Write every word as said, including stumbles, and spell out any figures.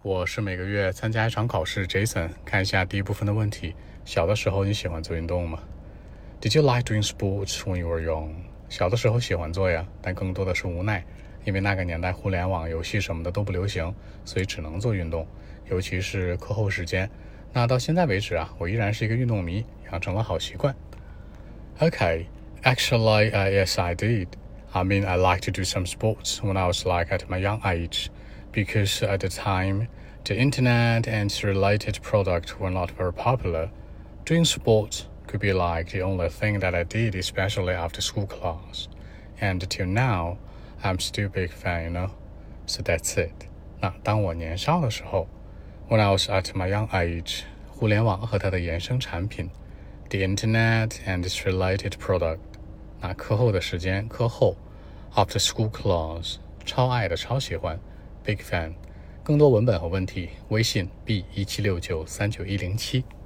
我是每个月参加一场考试 Jason， 看一下第一部分的问题。小的时候你喜欢做运动吗？ Did you like doing sports when you were young? 小的时候喜欢做呀，但更多的是无奈，因为那个年代互联网游戏什么的都不流行，所以只能做运动，尤其是课后时间。那到现在为止啊，我依然是一个运动迷，养成了好习惯。Okay, actually, uh, yes, I did. I mean, I like to do some sports when I was like at my young age, because at the time, the internet and related products were not very popular. Doing sports could be like the only thing that I did, especially after school class. And till now, I'm still a big fan, you know? So that's it. 那当我年少的时候 when I was at my young age, 互联网和它的衍生产品 the internet and its related product. 那课后的时间，课后 after school class, 超爱的超喜欢 big fan. 更多文本和问题，微信 b 一七六九三九一零七。